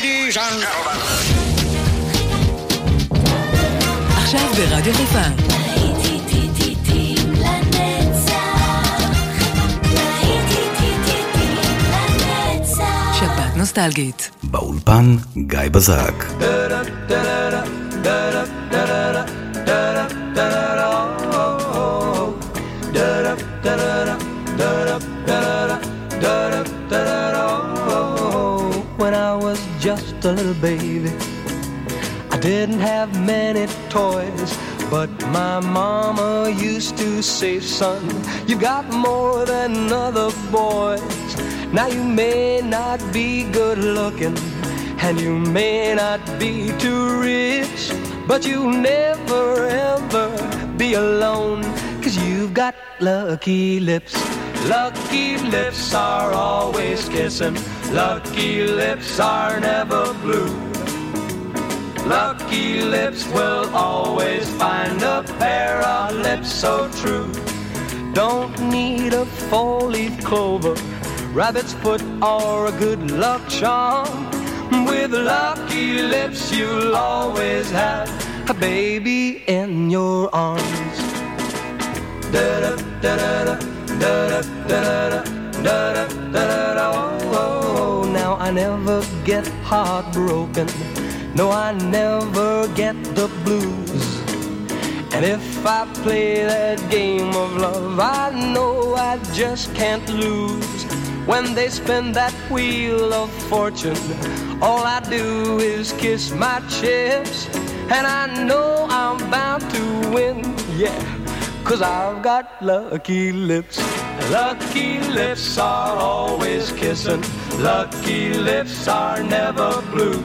Ladies and gentlemen. עכשיו ברדיו חיפה. שבת נוסטלגית. באולפן גיא בזק. When I was just a little baby, I didn't have many toys, but my mama used to say, son, you got more than other boys. Now you may not be good looking, and you may not be too rich, but you'll never ever be alone, 'cause you've got lucky lips. Lucky lips are always kissing, lucky lips are never blue. Lucky lips will always find a pair of lips so true. Don't need a four-leaf clover, rabbit's foot or a good luck charm. With lucky lips you'll always have a baby in your arms. Da-da-da-da-da, da-da-da-da, da-da-da-da, oh, now I never get heartbroken. No, I never get the blues. And if I play that game of love, I know I just can't lose. When they spin that wheel of fortune, all I do is kiss my chips, and I know I'm bound to win, yeah, 'cause I've got lucky lips. Lucky lips are always kissing, lucky lips are never blue.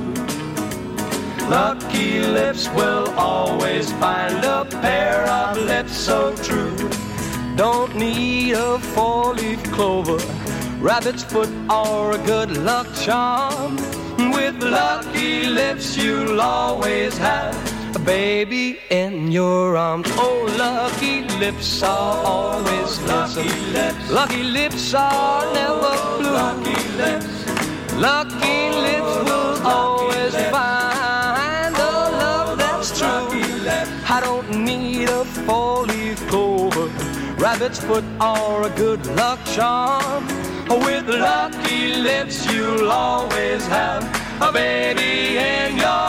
Lucky lips will always find a pair of lips so true. Don't need a four-leaf clover, rabbit's foot or a good luck charm. With lucky lips you'll always have a baby in your arms. Oh, lucky lips are always lucky lips. Lucky lips are never blue. Lucky lips. Lucky lips will always find a love that's true. I don't need a four-leaf clover, rabbit's foot or a good luck charm. With lucky lips you'll always have a baby in your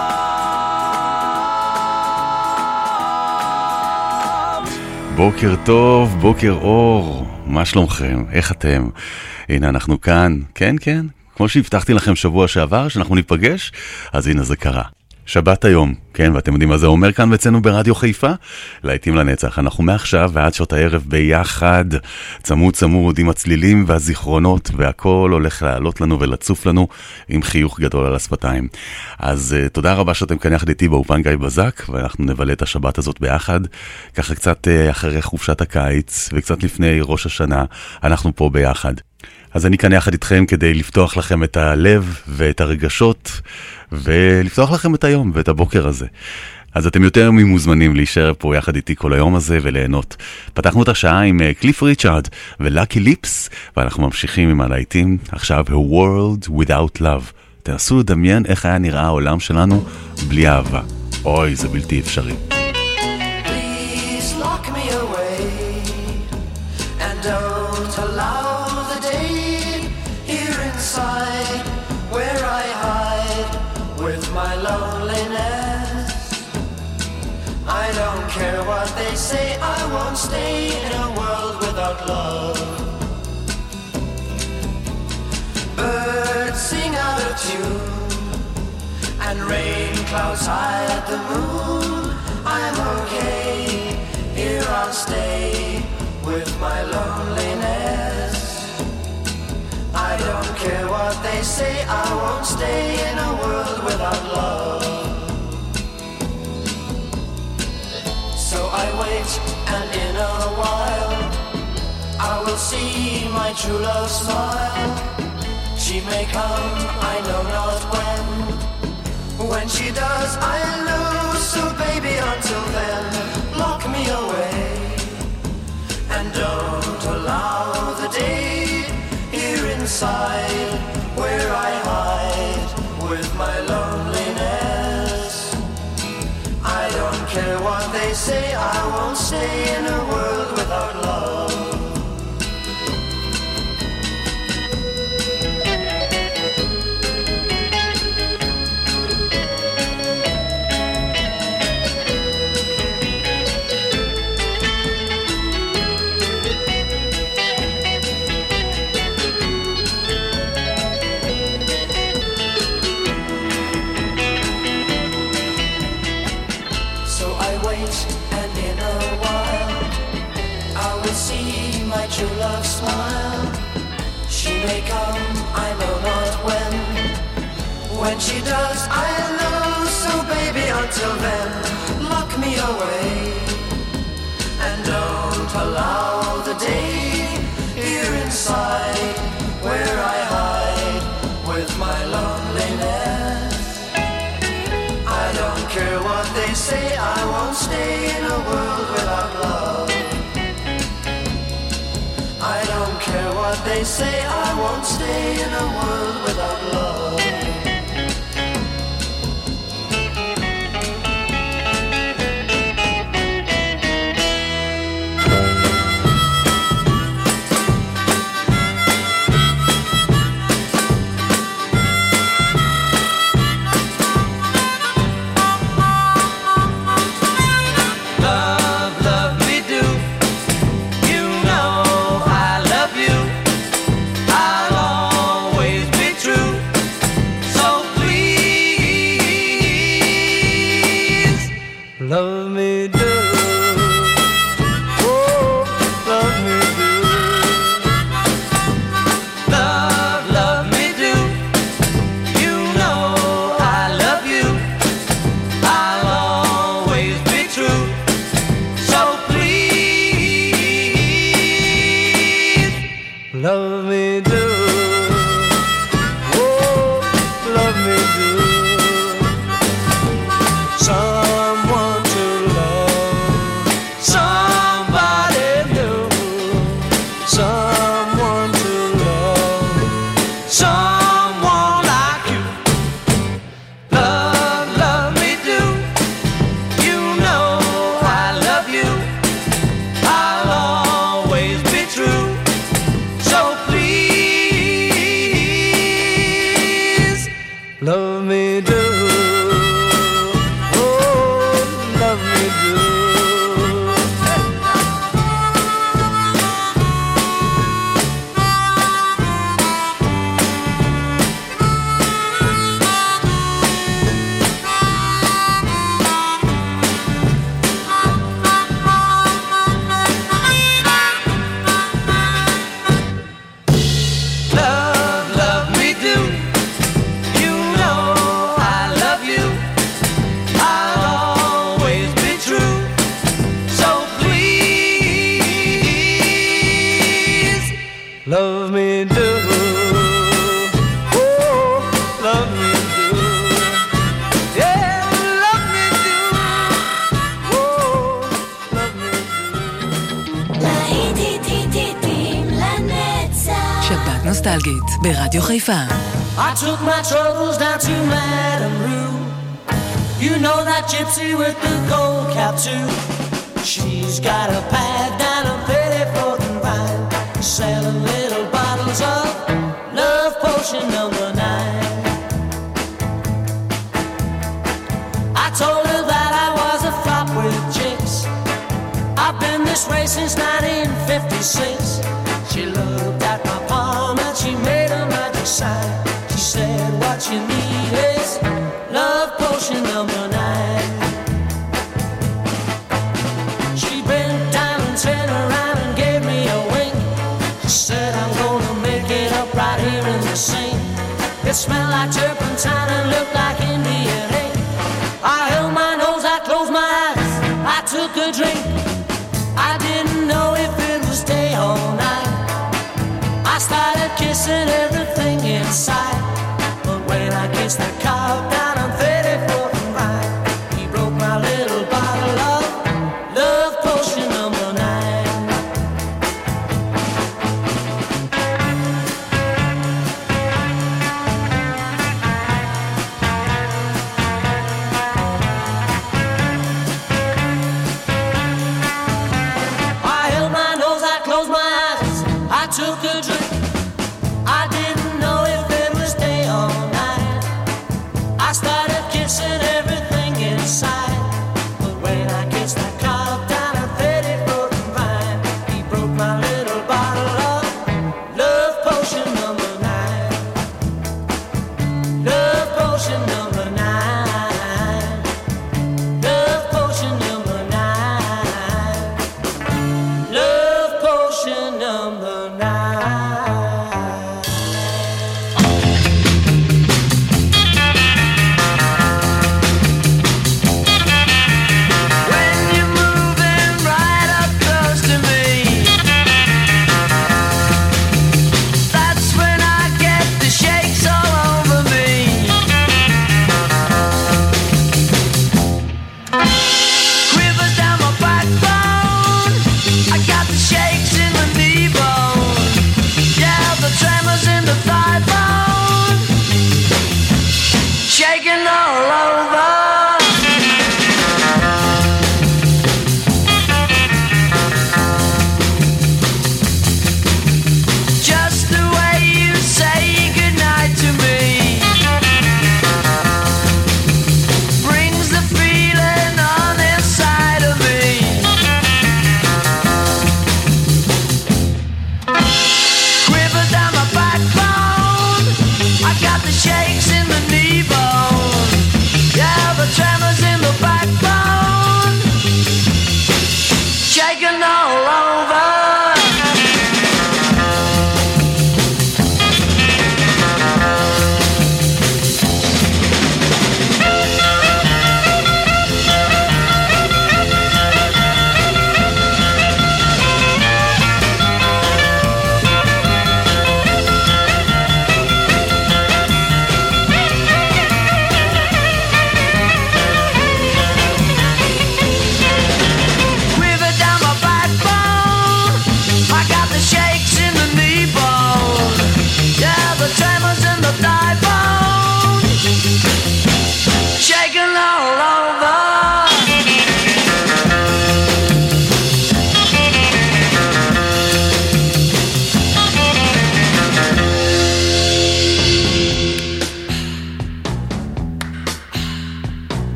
arms. בוקר טוב, בוקר אור, מה שלומכם? איך אתם? הנה אנחנו כאן, כן, כמו שהבטחתי לכם שבוע שעבר שאנחנו ניפגש, אז הנה זה קרה. שבת היום, כן, ואתם יודעים מה זה אומר כאן אצלנו ברדיו חיפה? להיטים לנצח, אנחנו מעכשיו ועד שעות הערב ביחד, צמוד עם הצלילים והזיכרונות, והכל הולך לעלות לנו ולצוף לנו עם חיוך גדול על השפתיים. אז תודה רבה שאתם כאן יחד איתי באופן גיא בזק, ואנחנו נבלה את השבת הזאת ביחד, ככה קצת אחרי חופשת הקיץ, וקצת לפני ראש השנה, אנחנו פה ביחד. אז אני כאן יחד איתכם כדי לפתוח לכם את הלב ואת הרגשות, ולפתוח לכם את היום ואת הבוקר הזה. אז אתם יותר ממוזמנים להישאר פה יחד איתי כל היום הזה וליהנות. פתחנו את השעה עם קליף ריצ'ארד ולאקי ליפס, ואנחנו ממשיכים עם הלהיטים. עכשיו, A World Without Love. תנסו לדמיין איך היה נראה העולם שלנו בלי אהבה. אוי, זה בלתי אפשרי. Please lock me away and don't allow the day here inside where I hide with my loneliness. I don't care what they say, I won't stay in a world without love. Birds sing out of tune and rain clouds hide the moon. I'm okay, here I'll stay with my loneliness. I don't care what they say, I won't stay in a world without love. So I wait, and in a while I will see my true love smile. She may come, I know not when. When she does, I'll lose. So baby, until then, lock me away and don't allow the day here inside where I hide with say I won't stay in a world without love. True love smile, she may come, I know not when. When she does, I'll know. So baby, until then, lock me away and don't allow the day here inside where I hide with my loneliness. I don't care what they say, I won't stay in a world without love. I don't care what they say, I won't stay in a world without love. Love me do, oh, love me do. Love me do. You know I love you. I'll always be true. So please, love me do, oh, love me do. Someone to love, somebody new. Someone to love, someone like you. Love me do. You know I love you. I'll always be true. So please, love me do. Love me do, oh, love me do, yeah, love me do, oh, love me do. להיטים לנצח. שבת נוסטלגית ברדיו חיפה. I took my troubles down to Madame Rue. You know that gypsy with the gold cap too. She's got a pad down a Pettiford and Vine, selling little bottles of love potion number 9. I told her that I was a flop with chicks. I've been this way since 1956. She looked at my palm and she made a magic sign. She said, what you need is love potion number 9. She bent down and turned around and gave me a wink. She said, I'm gonna make it up right here in the sink. It smelled like turpentine and looked like Indian ink. I held my nose, I closed my eyes, I took a drink. I didn't know if it was day or night. I started kissing everything inside. But when I kissed the cow down on 34th and Vine, he broke my little bottle of love potion number 9.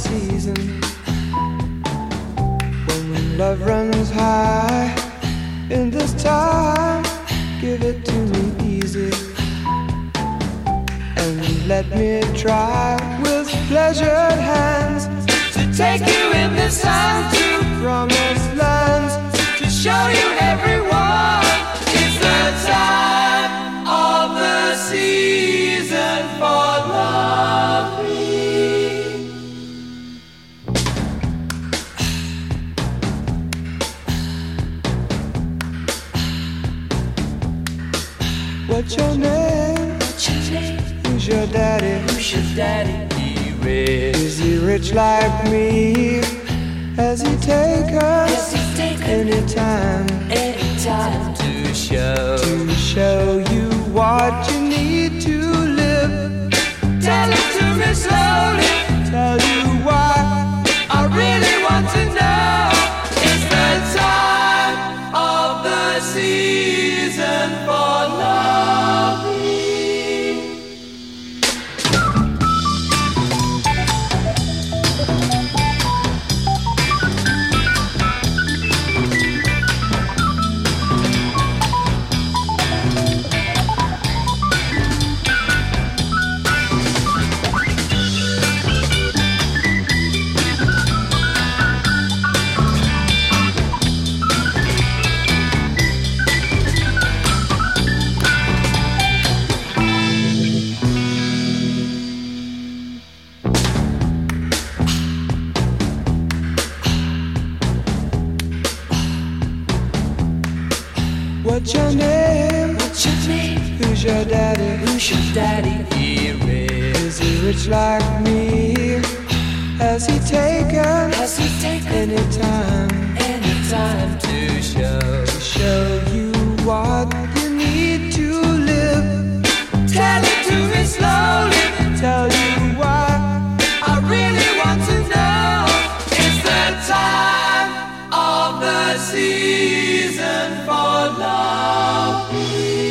season when love runs high. In this time, give it to me easy and let me try with pleasured hands to take you in this time to promised lands, to show you everyone. It's the time of the season for loving. What's your name? Who's your daddy? Is he rich like me? Has he take us anytime to show you what you need to live? Tell it to me slowly, tell you why I really want to know. It's the time of the season for loving. What's your name? Who's your daddy? Is he rich like me? Has he taken anytime to show you what you need to live? Tell it to me slowly, tell you why I really want to know. It's the time of the season for loving.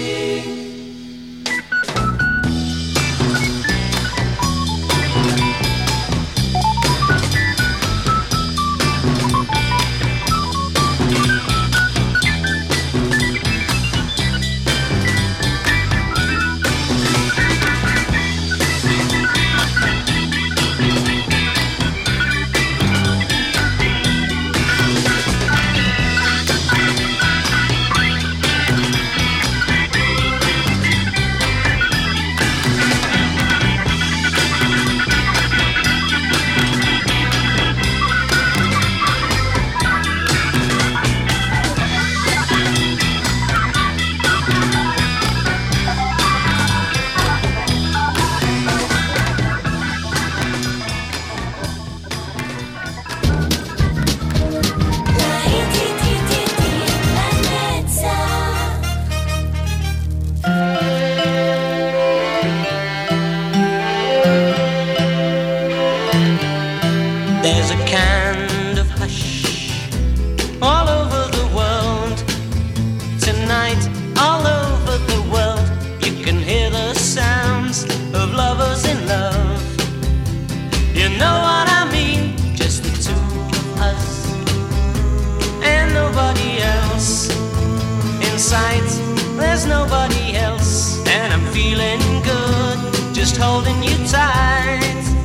There's a kind of hush all over the world. Tonight, all over the world, you can hear the sounds of lovers in love. You know what I mean? Just the two of us and nobody else. In sight, there's nobody else, and I'm feeling good, just holding you tight.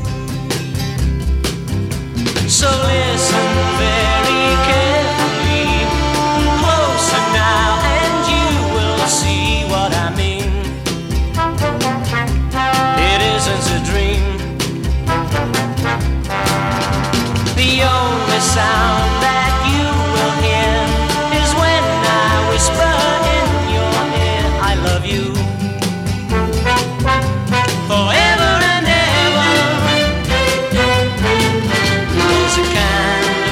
So listen very carefully, closer now, and you will see what I mean. It isn't a dream. The only sound that you will hear is when I whisper in your ear, I love you forever and ever. There's a kind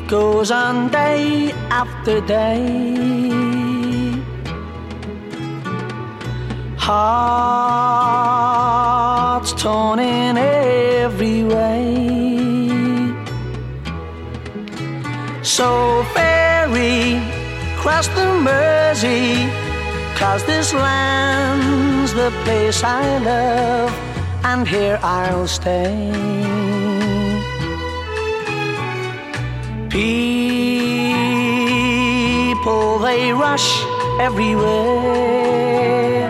goes on day after day. Hearts torn in every way. So ferry cross the Mersey, 'cause this land's the place I love, and here I'll stay. People, they rush everywhere,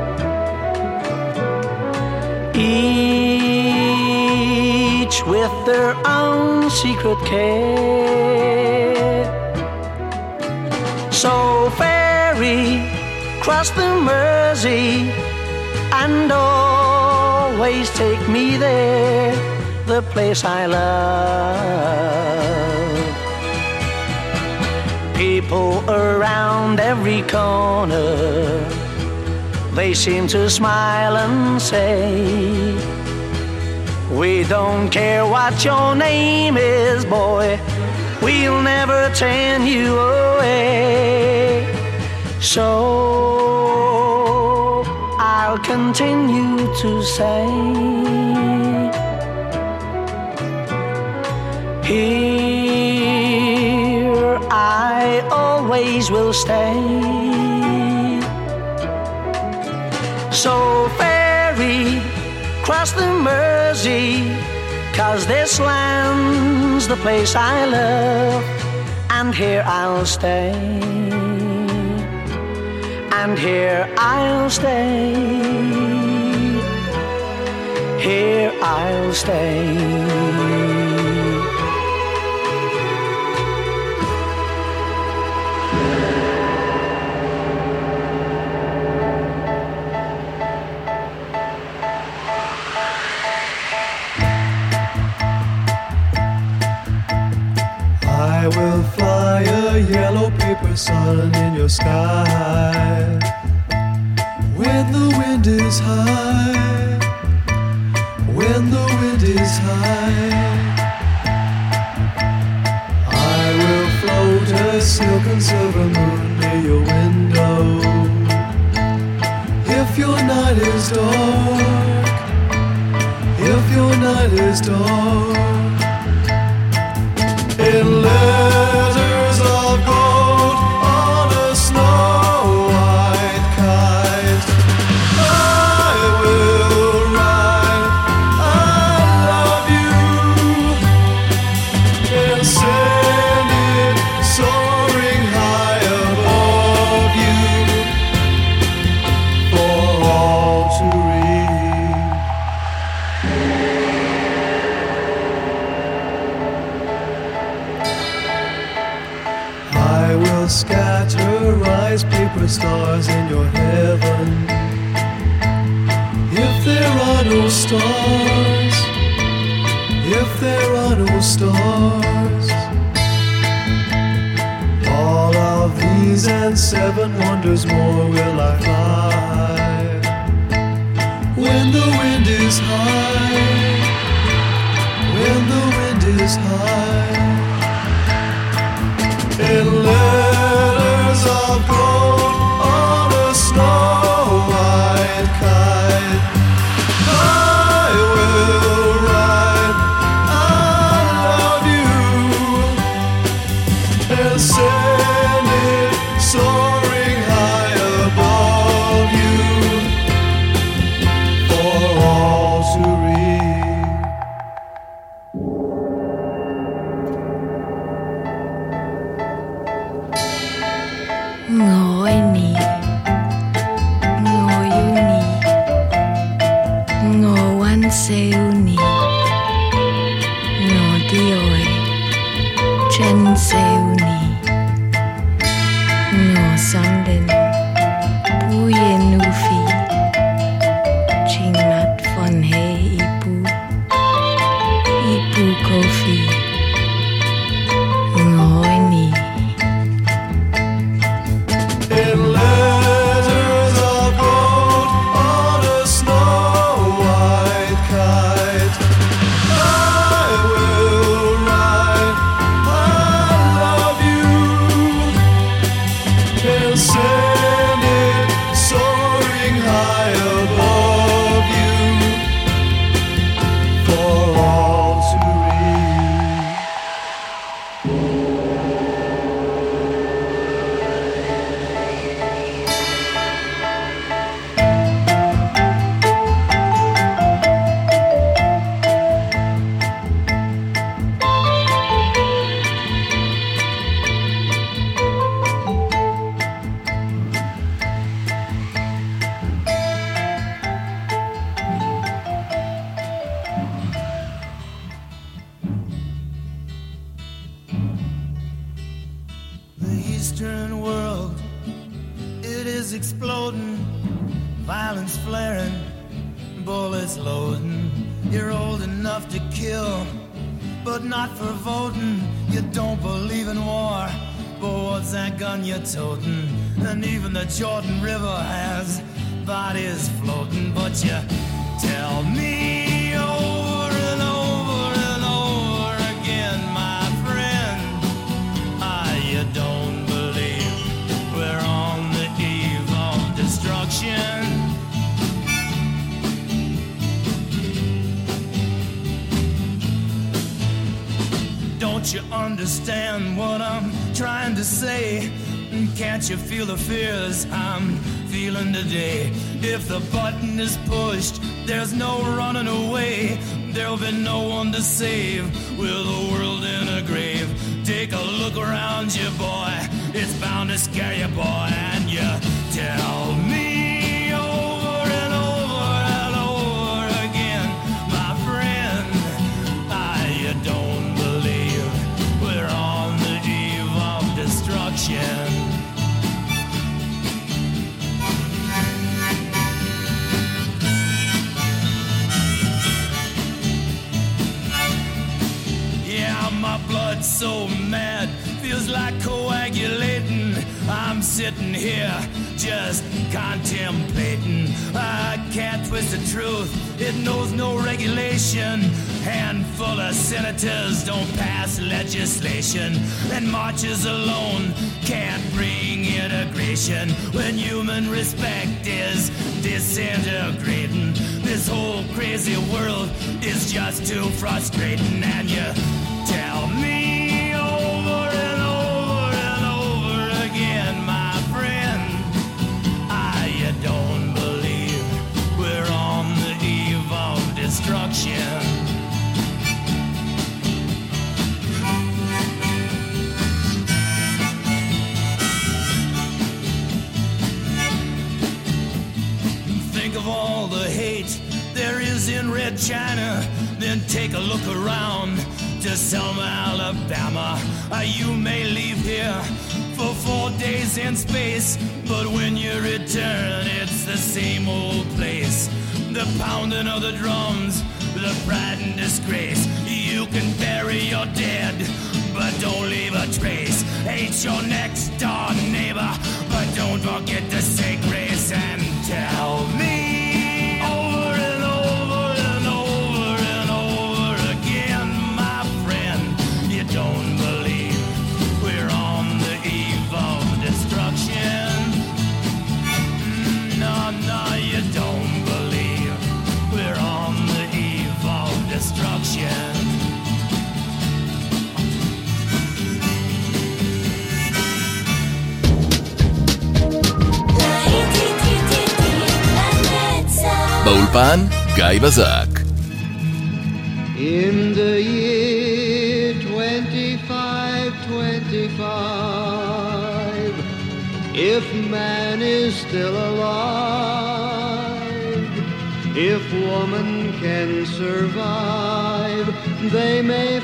each with their own secret care. So ferry cross the Mersey and always take me there, the place I love. People around every corner, they seem to smile and say, we don't care what your name is, boy, we'll never turn you away. So I'll continue to say, here I always will stay. So ferry cross the Mersey, 'cause this land's the place I love, and here I'll stay, and here I'll stay, here I'll stay. I will fly a yellow paper sun in your sky. When the wind is high, when the wind is high, I will float a silk and silver moon near your window. If your night is dark, if your night is dark, in letters of gold on a snow-white kite, I will write I love you and send it soaring high above you for all to read. I will scatter rice paper stars in your heaven. If there are no stars, if there are no stars, all of these and 7 wonders more will I fly. When the wind is high, when the wind is high, in letters of gold on a snow-white kite, I will write I love you and send it soaring high above you for all to read. Ngồi nì, ngồi yu nì, ngồi one sale nì, ngồi đi ơi, chân sale nì, ngồi xong đến bùi nu phi, chinh mắt phòn hê ipu coffee, ngồi nì. In letters of gold on a snow-white kite, I will write I Western world, it is exploding, violence flaring, bullets loading. You're old enough to kill, but not for voting. You don't believe in war, but what's that gun you're toting? And even the Jordan River has bodies floating. But you tell me over and over and over again, my friend, you don't believe we're on the eve of destruction. Don't you understand what I'm trying to say? Can't you feel the fears I'm feeling today? If the button is pushed, there's no running away. There'll be no one to save with the world in a grave. Take a look around you, boy. It's bound to scare you, boy. And you tell me over and over and over again, my friend, you don't believe we're on the eve of destruction. My blood's so mad, feels like coagulating. I'm sitting here just contemplating. I can't twist the truth, it knows no regulation. Handful of senators don't pass legislation, and marches alone can't bring integration. When human respect is disintegrating, this whole crazy world is just too frustrating. And you tell me over and over and over again, my friend, you don't believe we're on the eve of destruction. Think of all the hate there is in Red China, then take a look around to Selma, Alabama. You may leave here for 4 days in space, but when you return, it's the same old place. The pounding of the drums, the pride and disgrace. You can bury your dead, but don't leave a trace. Hate your next door neighbor, but don't forget to say grace. And tell me over and over and over and over again, my friend, you don't believe we're on the eve of destruction. No, no, you don't believe we're on the eve of destruction. באולפן גיא בזק. In the year 2525, if man is still alive, if woman can survive, they may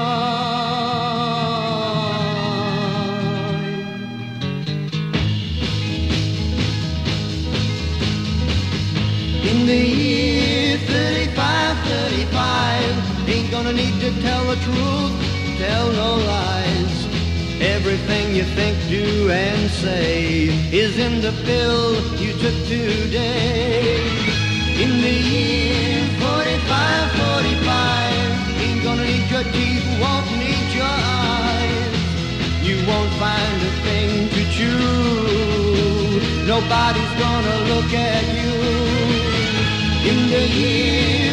find. In the year 3535, ain't gonna need to tell the truth, tell no lies. Everything you think, do, and say is in the pill you took today. In the year 4545, ain't gonna need your teeth, won't need your eyes. You won't find a thing to chew, nobody's gonna look at you. In the year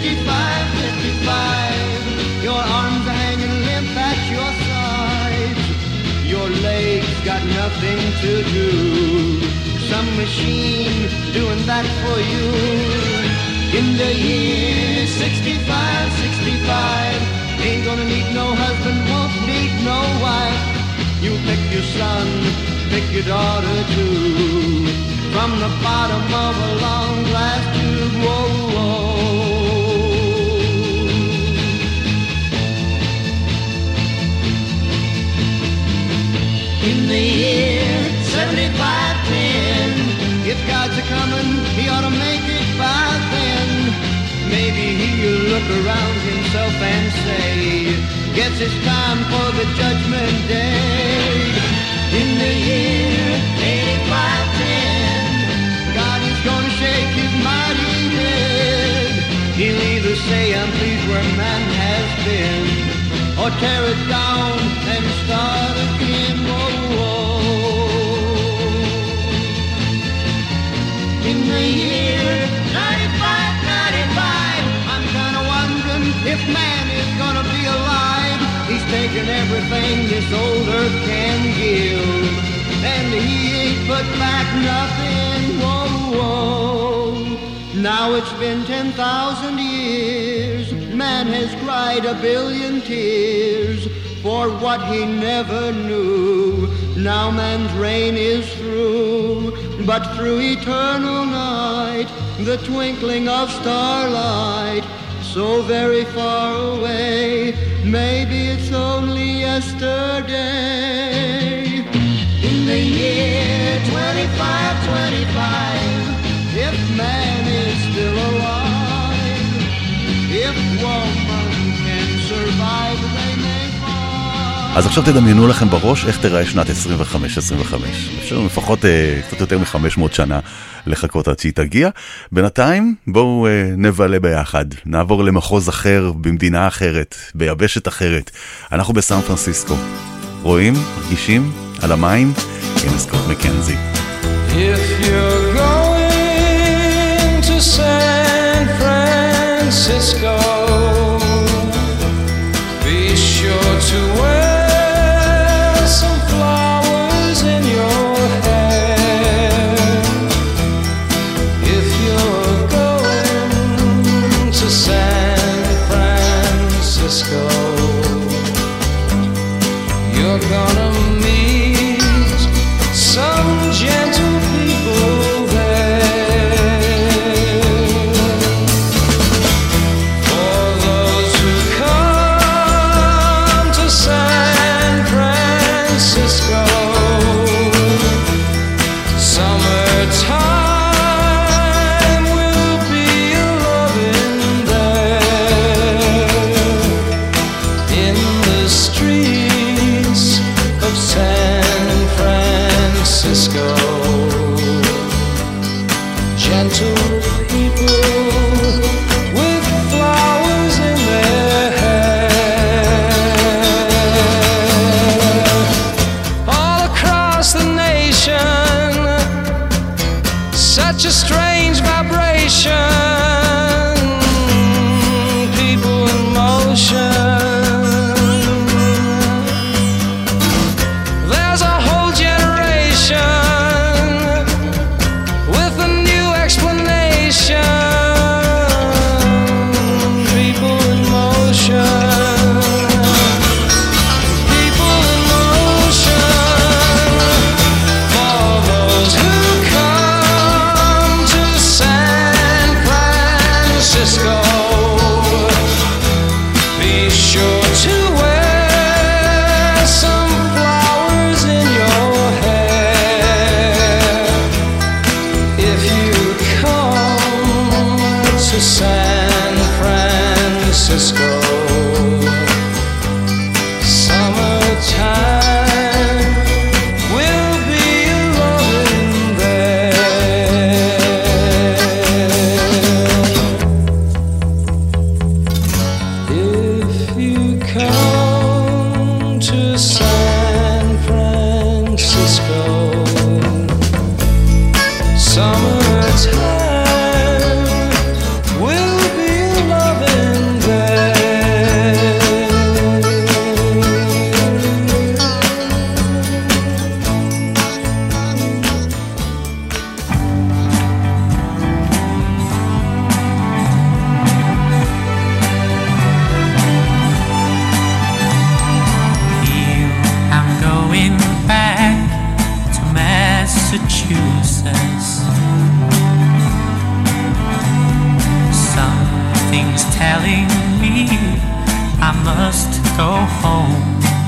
5555, your arms are hanging limp at your sides. Your legs got nothing to do, some machine doing that for you. In the year 6565, ain't gonna need no husband, won't need no wife. You pick your son, pick your daughter too, from the bottom of a long glass tube. Whoa, whoa. In the year he'll look around himself and say, guess it's time for the judgment day. In the year 8510, God is gonna shake his mighty head. He'll either say, I'm pleased where man has been, or tear it down and start again. Whoa, whoa. In the year 95, I'm kinda wondering if man is gonna be alive. He's taken everything this old earth can give, and he ain't put back nothing. Whoa, whoa. Now it's been 10,000 years. Man has cried a billion tears for what he never knew. Now man's reign is through, but through eternal night, the twinkling of starlight, so very far away, maybe it's only yesterday. In the year 2525, if man is still alive, if woman can survive, they may fall. אז עכשיו תדמיינו לכם בראש איך תראה שנת 25-25. אפשר לפחות קצת יותר מ-500 שנה לחכות עד שהיא תגיע. בינתיים בואו נבלה ביחד, נעבור למחוז אחר, במדינה אחרת, ביבשת אחרת. אנחנו בסן פרנסיסקו, רואים, מרגישים, על המים, הנה סקוט מקנזי. If you're going to San Francisco, be sure to wear some flowers in your hair. If you're going to San Francisco, you're gonna meet some gentle people there. For those who come to San Francisco, summertime will be a-lovin' there. In the streets of San Francisco, gentle people with flowers in their hair. All across the nation, such a strange vibration, people in motion. There's a whole generation with a new explanation. People in motion. People in motion. For those who come to San Francisco, be sure to wear some flowers in your hair. If you come to San Francisco, summertime will be a-lovin' there. If you come to San Francisco, summertime will be a-lovin' there. I'm going back to Massachusetts. Something's telling me I must go home.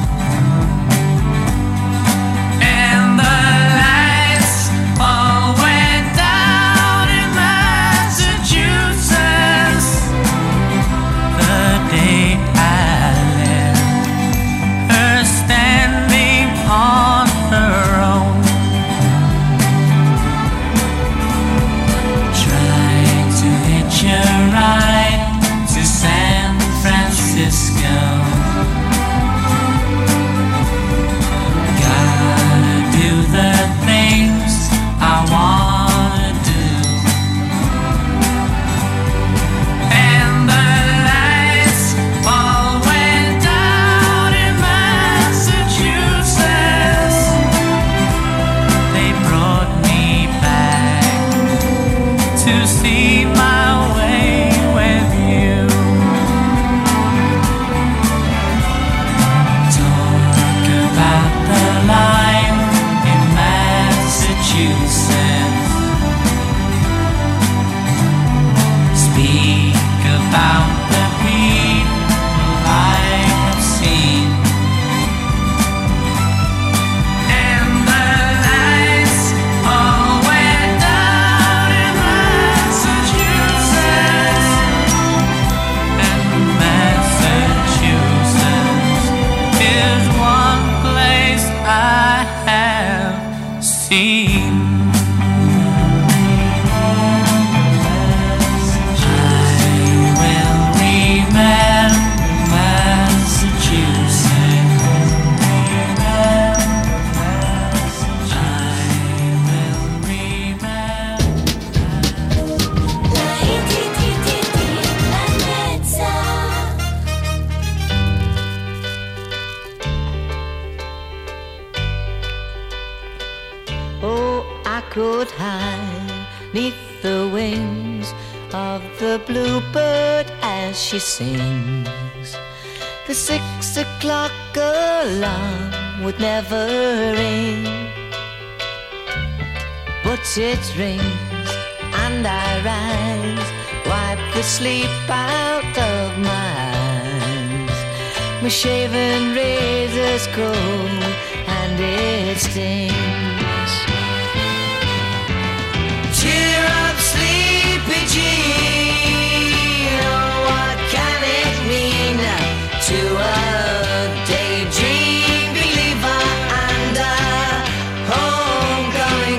And the lights all went down in Massachusetts. echoed high 'neath the wings of the bluebird as she sings. The 6 o'clock alarm would never ring, but it rings and I rise, wipe the sleep out of my eyes. My shaven razor's cold and it stings. Cheer up, sleepy Jean, oh, what can it mean to a daydream believer and a homecoming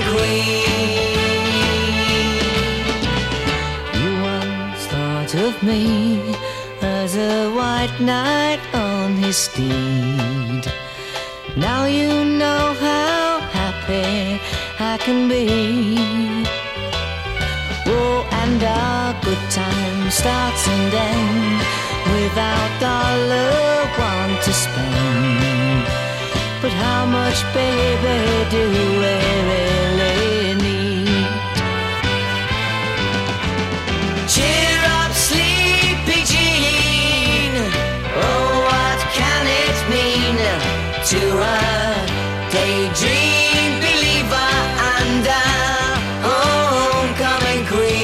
queen? You once thought of me as a white knight on his steed. Now you know how happy I can be. Oh, and our good time starts and ends without $1 to spend. But how much, baby, do we really need? Cheer up, sleepy Jean, oh, what can it mean to a daydream believer and a homecoming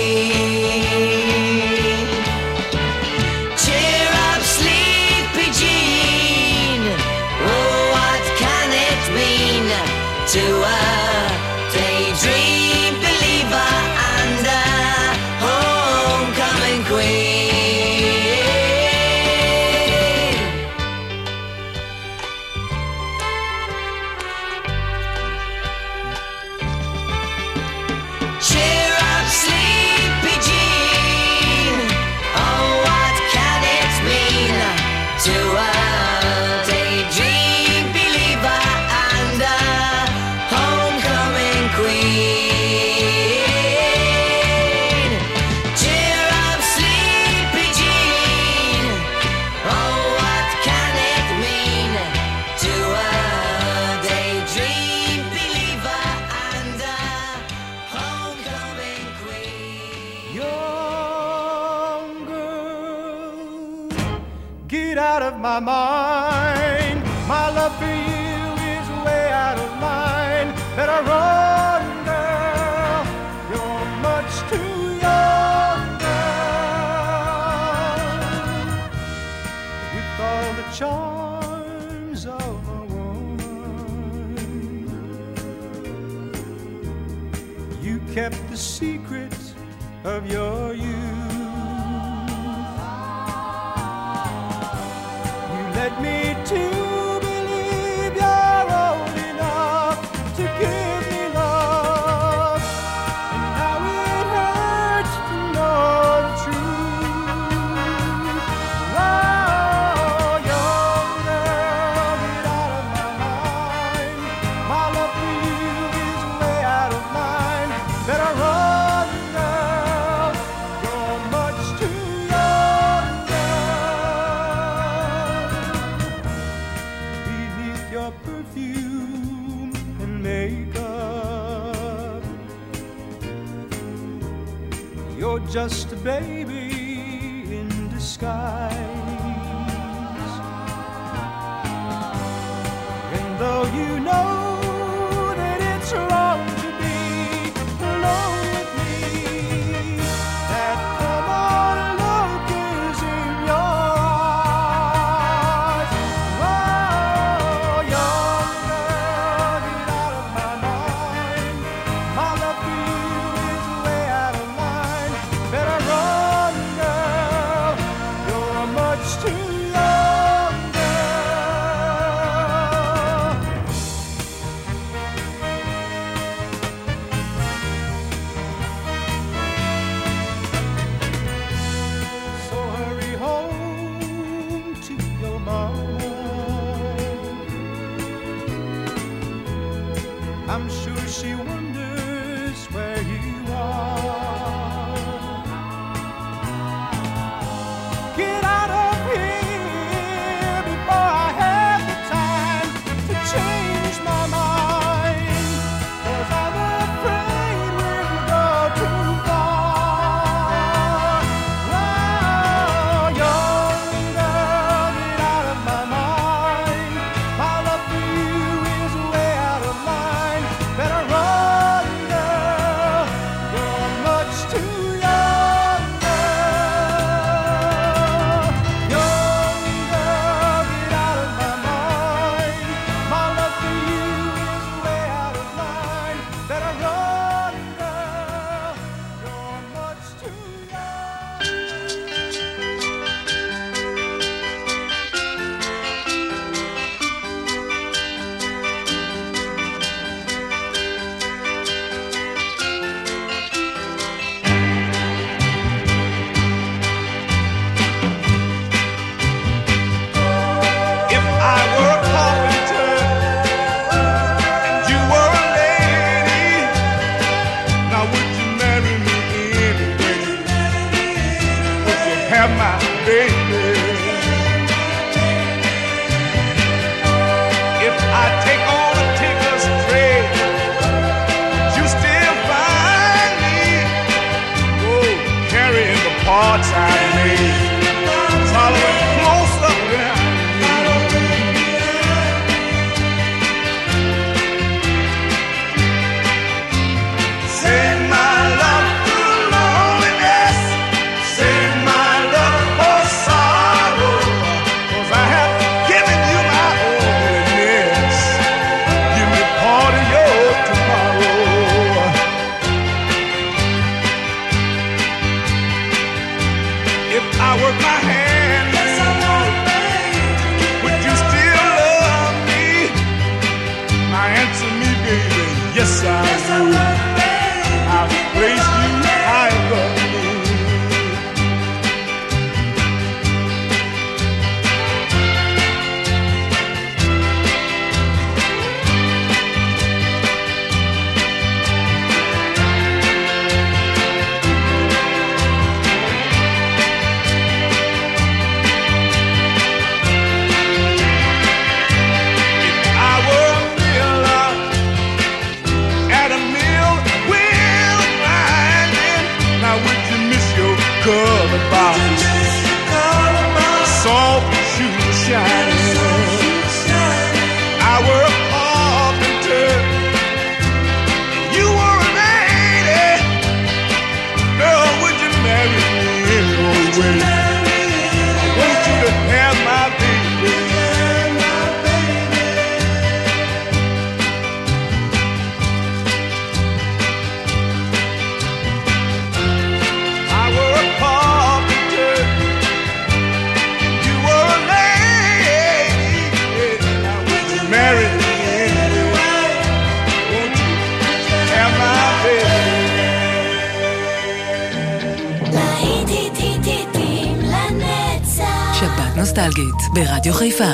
queen? Cheer up, sleepy Jean, oh, what can it mean to a daydream believer and a homecoming queen? Cheer up, sleepy Jean, oh, what can it mean to a daydream believer and a homecoming queen? Cheer up, sleepy Jean, oh, what can it mean to a daydream believer and a homecoming queen? Young girl, get out of my mind. My love for you is way out of line. Better run, girl, you're much too young, girl. With all the charms of a woman, you kept the secret of your youth. You led me to believe you're old enough to give me love, and now it hurts to know the truth. Oh, young girl, get out of my mind. My love for you is way out of line. Better run, girl, you're much too young, girl. Beneath your perfume and makeup, you're just a baby in disguise. And though you know that it's wrong to be alone with me, that come on look is in your eyes. Oh, young girl, get out of my mind. My love for you is way out of line. Better run, girl, you're much too young, girl. So hurry home to your mama. I'm sure she wonders where you are. Get out of here before I have the time to change my mind, 'cause I'm afraid take all the tickers straight, you still find me, oh, carrying the parts I made, following close up behind. Save my love through loneliness, save my love for sorrow, 'cause I have given you my onlyness. Give me part of your tomorrow. If I work my hands, would you still love me? Now answer me, baby, yes I would. I'll place you high above me. If I were a miller at a mill wheel grinding, now would you miss your colored box? Soft shoes shining. I were a carpenter, you were a lady. Girl, would you marry me anyway? I want you to have my baby. I were a carpenter, you were a lady. Now would you marry me anyway? Won't you have my להיטים לנצח. שבת נוסטלגית ברדיו חיפה.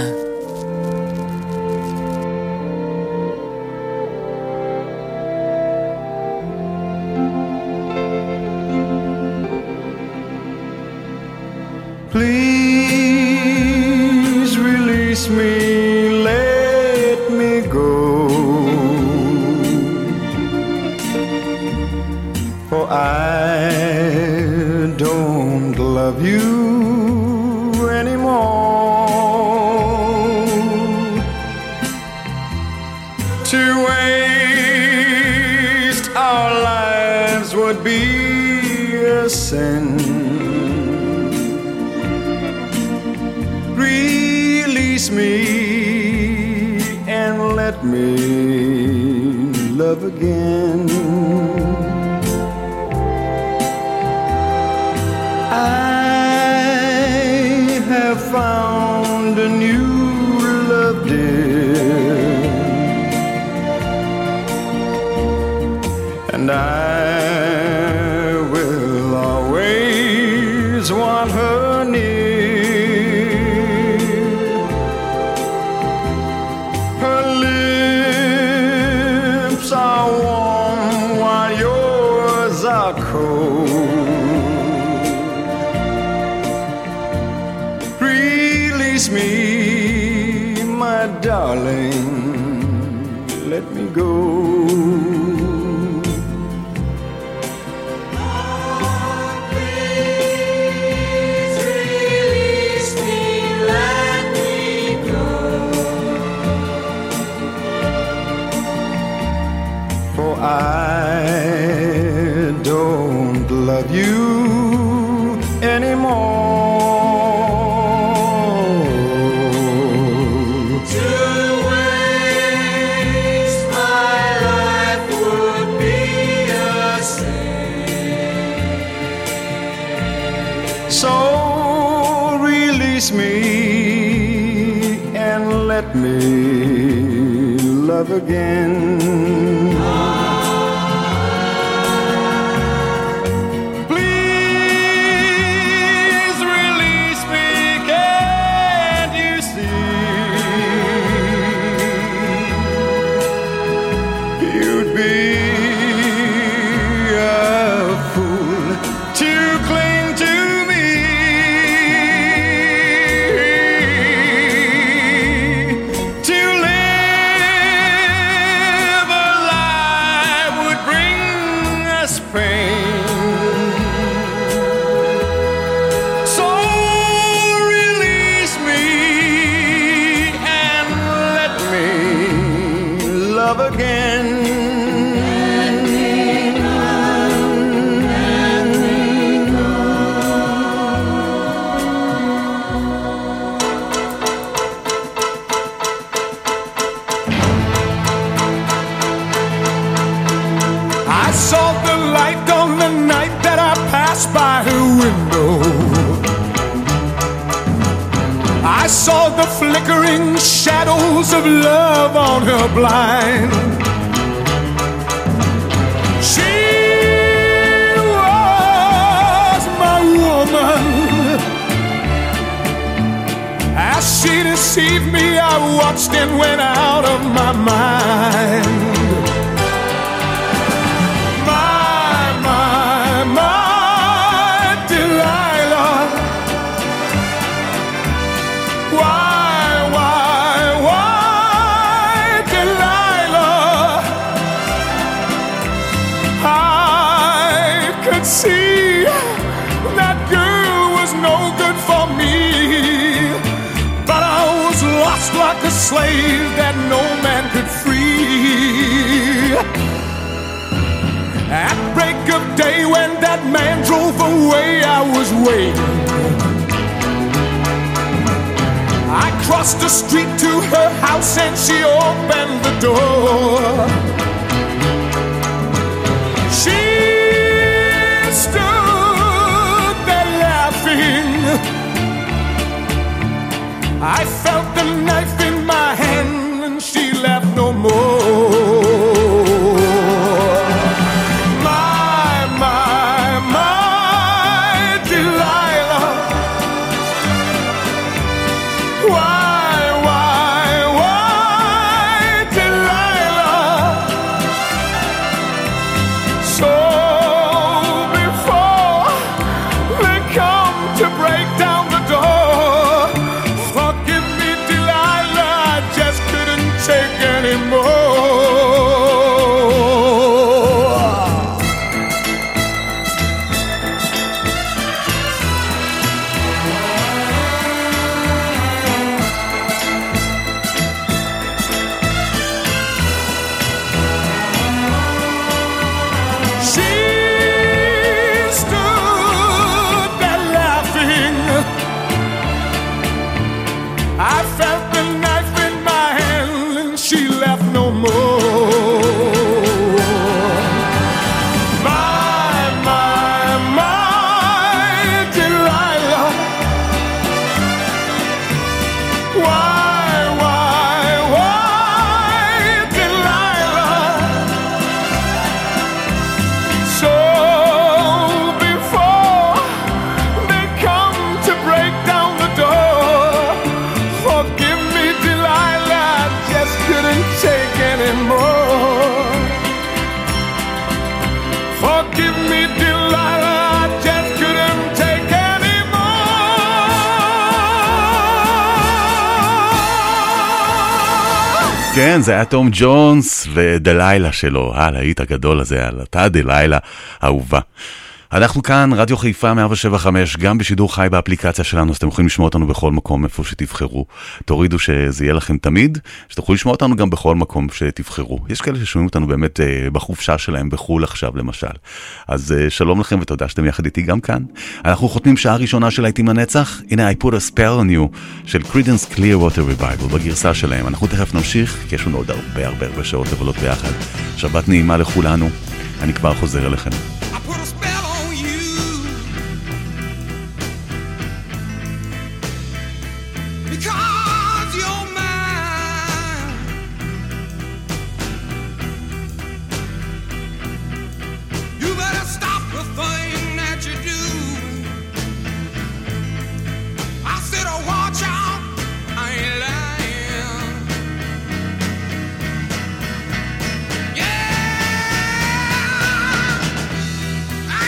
Please release me, let me go, for I don't love you anymore. To waste our lives would be a sin. Release me and let me love again. I have found a new love, dear, and I will always want her near. Her lips are warm while yours are cold. Release me, my darling, let me go. I don't love you anymore. To waste my life would be a sin. So release me and let me love again. To live love again. I saw the light on the night that I passed by her window. I saw the flickering shadows of love on her blind. She was my woman. As she deceived me, I watched and went out of my mind. See, that girl was no good for me, but I was lost like a slave that no man could free. At break of day when that man drove away, I was waiting. I crossed the street to her house and she opened the door. She stood there laughing. I felt the knife in my hand and she laughed no more. My Delilah. Why, Delilah? So to break down the door, forgive me, Delilah, I just couldn't take anymore. She stood there laughing. I felt the knife in my hand and she left no more. My Delilah. Why, Delilah? So before they come to break down the door, forgive me, Delilah, I just couldn't take anymore. Forgive me, Delilah, I just couldn't take anymore. כן, זה היה תום ג'ונס ודלילה שלו, הלהיט הגדול הזה, על אותה דלילה אהובה. אנחנו כאן, רדיו חיפה 107.5, גם בשידור חי באפליקציה שלנו, אז אתם יכולים לשמוע אותנו בכל מקום, איפה שתבחרו. תורידו שזה יהיה לכם תמיד, שתוכלו לשמוע אותנו גם בכל מקום שתבחרו. יש כאלה ששומעים אותנו באמת בחופשה שלהם, בחול עכשיו למשל. אז שלום לכם ותודה שאתם יחד איתי גם כאן. אנחנו חותמים שעה ראשונה של להיטים לנצח. הנה, I put a spell on you, של Creedence Clearwater Revival, בגרסה שלהם. אנחנו תכף נמשיך, כי יש לנו עוד הרבה שעות לבלות ביחד. שבת נעימה לכולנו. אני כבר חוזר אליכם. Yeah,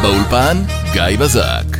באולפן גיא בזק.